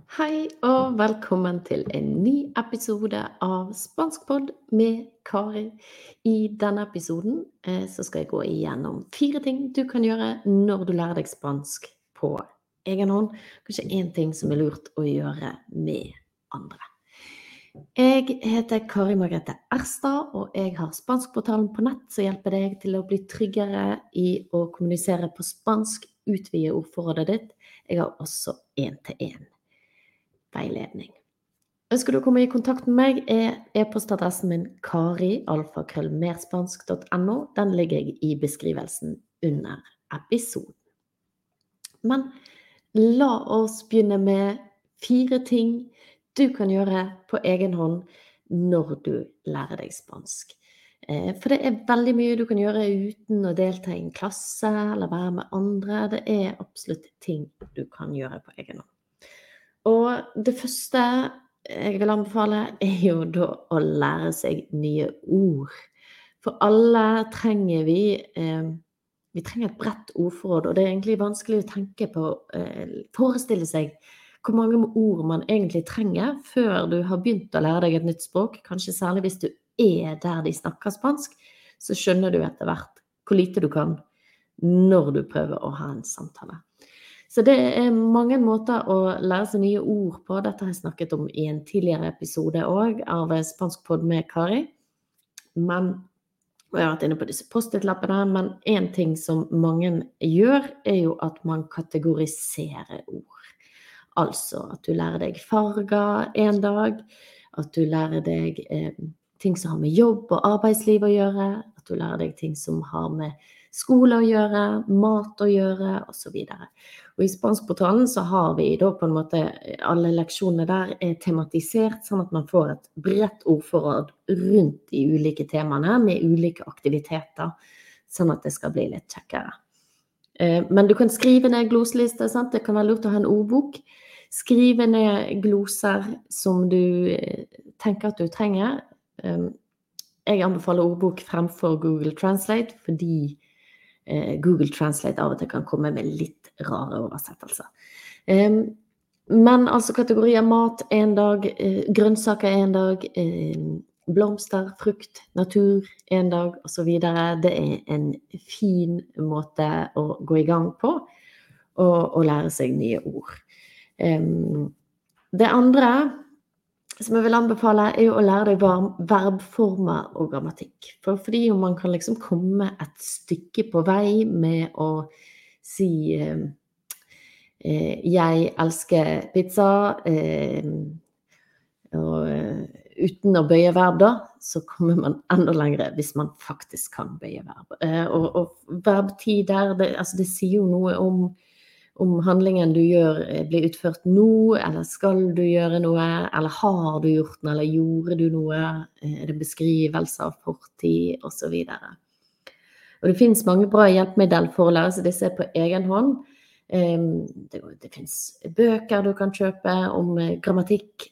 Hei og velkommen til en ny episode av Spanskpod med Kari. I denne episoden så skal jeg gå igjennom 4 ting du kan gjøre når du lærer deg spansk på egen hånd. Kanskje en ting som lurt å gjøre med andre. Jeg heter Kari Margrethe Erstad, og jeg har Spanskportalen på nett som hjelper deg til å bli tryggere i å kommunisere på spansk, utvide ordforrådet ditt. Jeg har også 1-til-1 veiledning. Ønsker du å komme i kontakt med meg e-postadressen min kari@merspansk.no. Den ligger jeg i beskrivelsen under episoden. Men la oss begynne med 4 ting du kan gjøre på egen hånd når du lærer deg spansk. For det veldig mye du kan gjøre uten å delta i en klasse eller være med andre. Det absolutt ting du kan gjøre på egen hånd. Og det første jeg vil anbefale jo da å lære seg nye ord. For alle trenger vi trenger et bredt ordforråd, og det egentlig vanskelig å tenke på, forestille seg hvor mange ord man egentlig trenger før du har begynt å lære deg et nytt språk. Kanskje særlig hvis du der de snakker spansk, så skjønner du etter hvert hvor lite du kan når du prøver å ha en samtale. Så det mange måter å lære seg nye ord på. Dette har jeg snakket om i en tidligere episode også, av Spanskpod med Kari. Og jeg har vært inne på disse post-it-lappene, men en ting som mange gjør jo at man kategoriserer ord. Altså at du lærer deg farger en dag, at du lærer deg ting som har med jobb og arbeidsliv å gjøre, at du lærer deg ting som har med skole å gjøre, mat å gjøre, og så videre. Og i Spanskportalen så har vi da på en måte alle leksjonene der tematisert, sånn at man får et bredt ordforråd rundt de ulike temaene med ulike aktiviteter, sånn at det skal bli litt kjekkere. Men du kan skrive ned gloselister, sant? Det kan være lurt å ha en ordbok. Skrive ned gloser som du tenker at du trenger. Jeg anbefaler ordbok fremfor Google Translate, fordi Google Translate av og til kan komme med litt rare oversettelser. Men altså kategorier mat en dag, grønnsaker en dag, blomster, frukt, natur en dag, og så videre. Det en fin måte å gå i gang på, og lære seg nye ord. Det andre som jeg vil anbefale jo å lære deg verbformer og grammatikk. Fordi man kan liksom komme et stykke på vei med å si jeg elsker pizza, og uten å bøye verb da, så kommer man enda lengre hvis man faktisk kan bøye verb. Og verbtider, det sier jo noe om handlingen du gjør blir utført nå, eller skal du gjøre noe, eller har du gjort noe, eller gjorde du noe, det beskrivelse av fortid, og så videre. Og det finnes mange bra hjelpemidler for å lære seg disse på egen hånd. Det finnes bøker du kan kjøpe om grammatikk,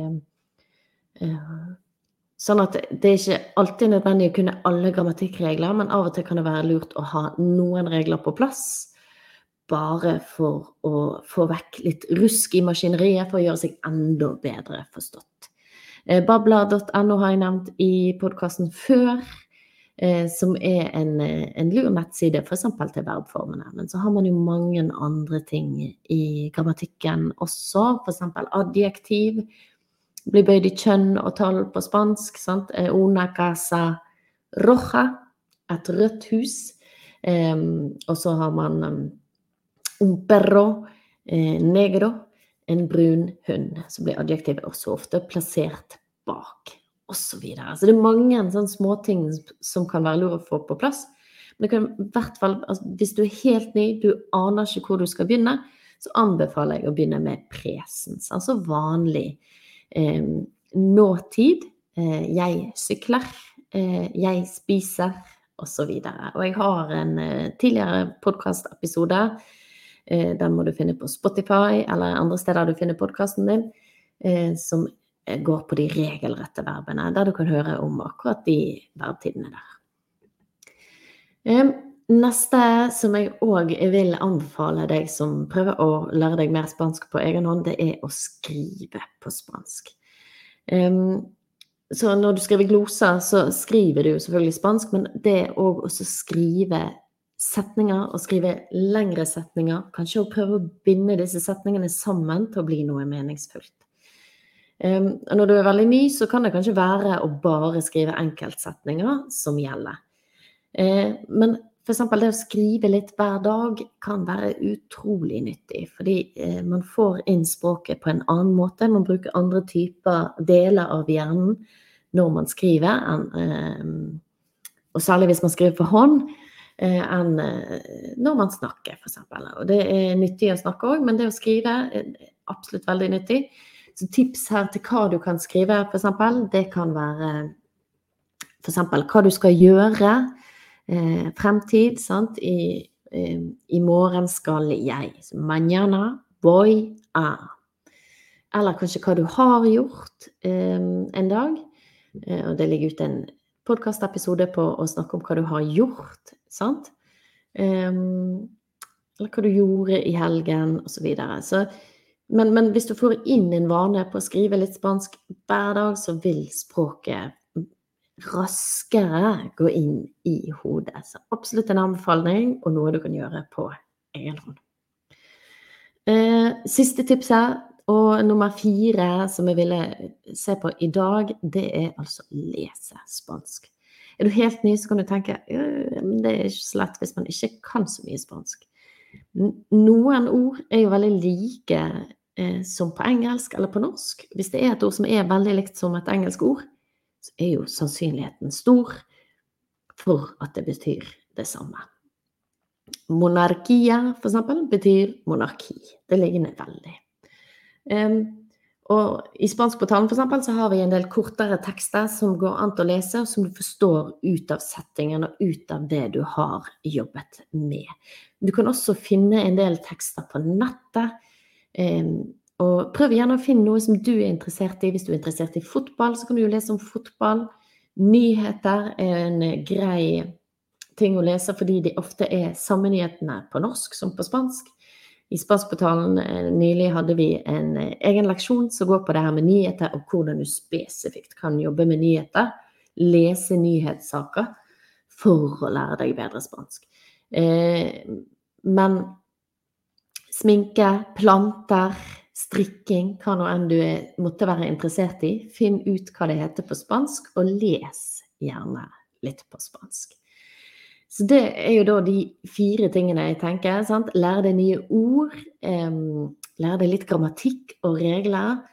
sånn at det ikke alltid nødvendig å kunne alle grammatikkregler, men av og til kan det være lurt å ha noen regler på plass, bare for å få vekk litt rusk i maskineriet for å gjøre seg enda bedre forstått. Babla.no har jeg nevnt i podcasten før, som en lur nettside for eksempel til verbformene. Men så har man jo mange andre ting i grammatikken også, for eksempel adjektiv, blir bøyd i kjønn og tall på spansk, sant? Una casa roja, et rødt hus, og så har man un perro negro, en brun hund, så blir adjektivet også ofte plassert bak, og så videre. Så det mange sånne små ting som kan være lurt å få på plass. Men det kan i hvert fall, hvis du helt ny, du aner ikke hvor du skal begynne, så anbefaler jeg å begynne med presens, altså vanlig nåtid, jeg sykler, jeg spiser, og så videre. Og jeg har en tidligere podcast-episode, den må du finne på Spotify eller andre steder du finner podcasten din, som går på de regelrette verbene, der du kan høre om akkurat de verbtidene der. Neste som jeg også vil anbefale deg som prøver å lære deg mer spansk på egen hånd, det er å skrive på spansk. Så når du skriver gloser, så skriver du jo selvfølgelig spansk, men det er også å skrive setninger, og skrive lengre setninger, kanskje å prøve å binde disse setningene sammen til å bli noe meningsfullt. Når du er veldig ny, så kan det kanskje være å bare skrive enkeltsetninger som gjelder. Men for eksempel det å skrive litt hver dag kan være utrolig nyttig, fordi man får inn språket på en annen måte, man bruker andre typer deler av hjernen når man skriver, og særlig hvis man skriver for hånd, enn når man snakker for eksempel. Og det er nyttig å snakke også, men det å skrive er absolutt veldig nyttig. Så tips her til hva du kan skrive for eksempel, det kan være for eksempel hva du skal gjøre, fremtid, sant? I morgen skal jeg, mañana voy a. Eller kanskje hva du har gjort en dag, og det ligger ut en podcastepisode på å snakke om hva du har gjort, sant? Eller hva du gjorde i helgen, og så videre. Men hvis du får inn en vane på å skrive litt spansk hver dag, så vil språket raskere gå inn i hodet. Så absolutt en anbefaling, og noe du kan gjøre på egen hånd. Siste tips her, og nummer 4 som jeg ville se på i dag, det er altså lese spansk. Er du helt ny, så kan du tenke, det er ikke så lett hvis man ikke kan så mye spansk. Noen ord er jo veldig like som på engelsk eller på norsk. Hvis det er et ord som er veldig likt som et engelsk ord, så er jo sannsynligheten stor for at det betyr det samme. Monarkia, for eksempel, betyr monarki. Det ligger veldig. Og i Spanskportalen for eksempel så har vi en del kortere tekster som går an til å lese, og som du forstår ut av settingen og ut av det du har jobbet med. Du kan også finne en del tekster på nettet, og prøv gjerne å finne noe som du er interessert i. Hvis du er interessert i fotball, så kan du jo lese om fotball. Nyheter er en grei ting å lese, fordi de ofte er samme nyhetene på norsk som på spansk. I Spanskportalen nylig hadde vi en egen leksjon som går på det her med nyheter, og hvordan du spesifikt kan jobbe med nyheter, lese nyhetssaker for å lære deg bedre spansk. Men sminke, planter, strikking, hva nå enn du måtte være interessert i, finn ut hva det heter på spansk, og les gjerne litt på spansk. Så det er jo da de 4 tingene jeg tenker, sant? Lære deg nye ord, lære deg litt grammatikk og regler,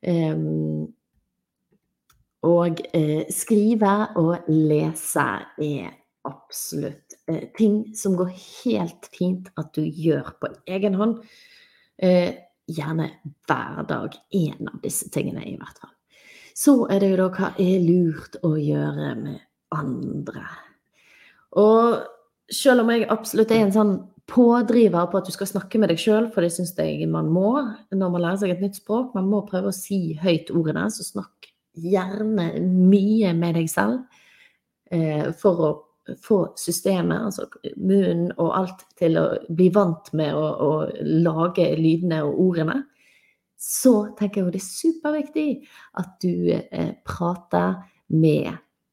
og skrive og lese er absolutt ting som går helt fint at du gjør på egen hånd, gjerne hver dag, en av disse tingene i hvert fall. Så er det jo da hva er lurt å gjøre med andre. Og selv om jeg absolutt er en sånn pådriver på at du skal snakke med deg selv, for det synes jeg man må, når man lærer seg et nytt språk, man må prøve å si høyt ordene, så snakk gjerne mye med deg selv, for å få systemet, altså munnen og alt til å bli vant med å lage lydene og ordene. Så tenker jeg jo det er superviktig at du prater med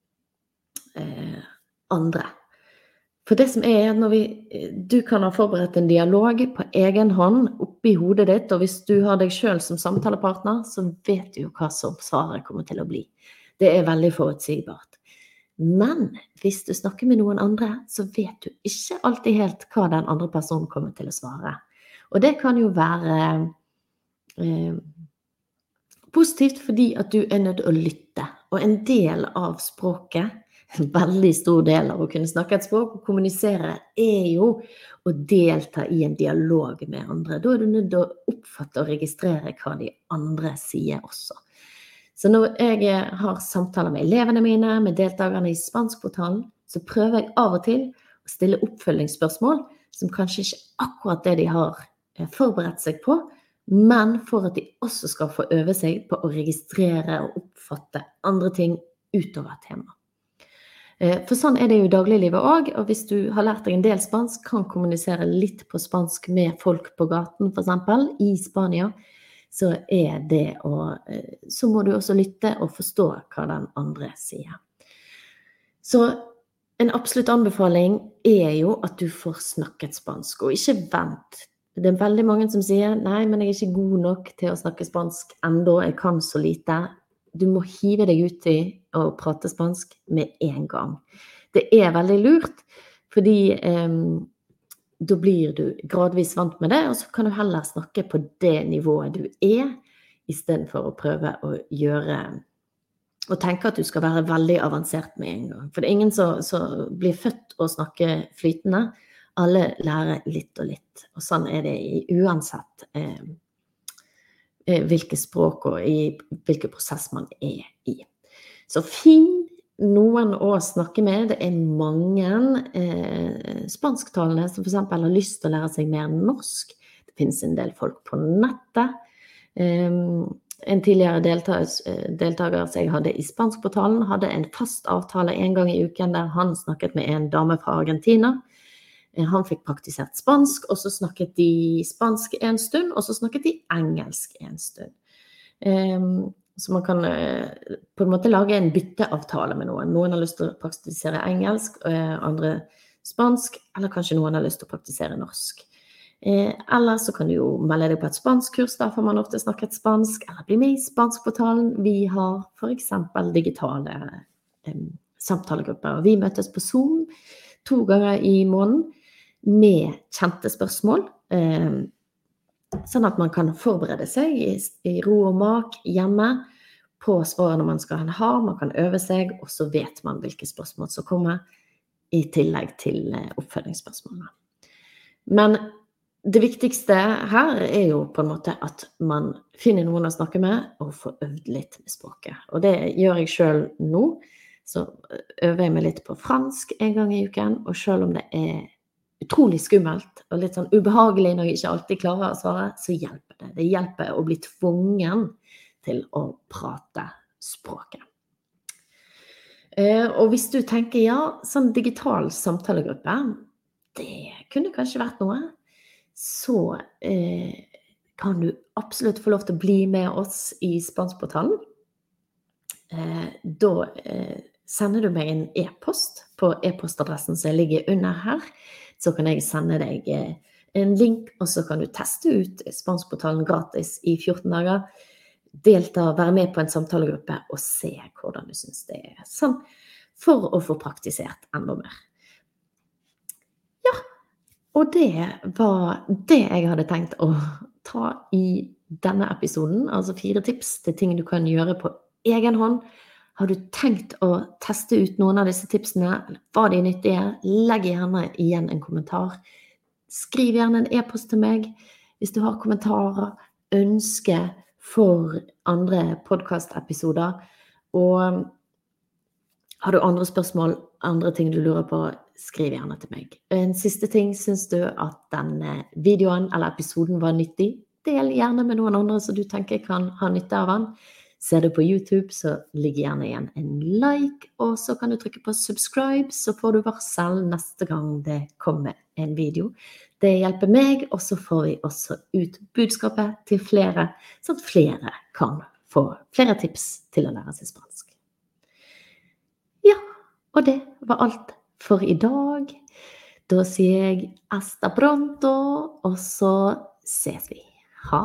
andre. For det som er når du kan ha forberedt en dialog på egen hånd oppi hodet ditt, og hvis du har deg selv som samtalepartner, så vet du jo hva som svaret kommer til å bli. Det er veldig forutsigbart. Men hvis du snakker med noen andre, så vet du ikke alltid helt hva den andre personen kommer til å svare. Og det kan jo være positivt fordi at du er nødt til å lytte. Og en del av språket, en veldig stor del av å kunne snakke et språk og kommunisere, er jo å delta i en dialog med andre. Da er du nødt til å oppfatte og registrere hva de andre sier også. Så når jeg har samtaler med elevene mine, med deltakerne i Spanskportalen, så prøver jeg av og til å stille oppfølgingsspørsmål, som kanskje ikke akkurat det de har forberedt seg på, men for at de også skal få øve seg på å registrere og oppfatte andre ting utover tema. For sånn det jo i dagliglivet også, og hvis du har lært deg en del spansk, kan kommunisere litt på spansk med folk på gaten, for eksempel, i Spania, så så må du også lytte og forstå hva den andre sier. Så en absolutt anbefaling jo at du får snakket spansk, og ikke vent. Det veldig mange som sier, nei, men jeg ikke god nok til å snakke spansk enda, jeg kan så lite. Du må hive deg ut i å prate spansk med en gang. Det veldig lurt, fordi da blir du gradvis vant med det, og så kan du heller snakke på det nivået du I stedet for å prøve å og tenke at du skal være veldig avansert med en gang. For det ingen som blir født å snakke flytende. Alle lærer litt og litt, og sånn det uansett hvilke språk og I hvilken prosess man I. Så finn noen å snakke med. Det mange spansktalende som for eksempel har lyst til å lære seg mer norsk. Det finnes en del folk på nettet. En tidligere deltaker som jeg hadde I spanskportalen hadde en fast avtale en gang I uken der han snakket med en dame fra Argentina. Han fikk praktisert spansk, og så snakket de spansk en stund, og så snakket de engelsk en stund. Så man kan på en måte lage en bytteavtale med noen. Noen har lyst til å praktisere engelsk, andre spansk, eller kanskje noen har lyst til å praktisere norsk. Eller så kan du jo melde deg på et spanskkurs, der får man ofte snakket spansk, eller bli med I spanskportalen. Vi har for eksempel digitale samtalegrupper, og vi møtes på Zoom 2 ganger I måneden med kjente spørsmål, sånn at man kan forberede seg I ro og mak hjemme på svarene man skal ha, man kan øve seg, og så vet man hvilke spørsmål som kommer I tillegg til oppfølgingsspørsmålene. Men det viktigste her jo på en måte at man finner noen å snakke med og får øvd litt med språket. Og det gjør jeg selv nå, så øver jeg meg litt på fransk en gang I uken, og selv om det utrolig skummelt og litt sånn ubehagelig når jeg ikke alltid klarer å svare, så hjelper det. Det hjelper å bli tvungen til å prate språket. Og hvis du tenker, ja, sånn digital samtalegruppe, det kunne kanskje vært noe, så kan du absolutt få lov til å bli med oss I spanskportalen. Da sender du meg en e-post på e-postadressen som ligger under her, så kan jeg sende deg en link, og så kan du teste ut spanskportalen gratis I 14 dager, delta, være med på en samtalegruppe og se hvordan du synes det sånn, for å få praktisert enda mer. Ja, og det var det jeg hadde tenkt å ta I denne episoden, altså 4 tips til ting du kan gjøre på egen hånd. Har du tenkt å teste ut noen av disse tipsene? Var de nyttige? Legg gjerne igjen en kommentar. Skriv gjerne en e-post til meg hvis du har kommentarer, ønske for andre podcast-episoder. Og har du andre spørsmål, andre ting du lurer på, skriv gjerne til meg. En siste ting, synes du at denne videoen eller episoden var nyttig? Del gjerne med noen andre som du tenker kan ha nytte av den. Ser du på YouTube, så ligger gjerne igjen en like, og så kan du trykke på subscribe, så får du varsel neste gang det kommer en video. Det hjelper meg, og så får vi også ut budskapet til flere, så at flere kan få flere tips til å lære seg spansk. Ja, og det var alt for I dag. Da sier jeg hasta pronto, og så ses vi.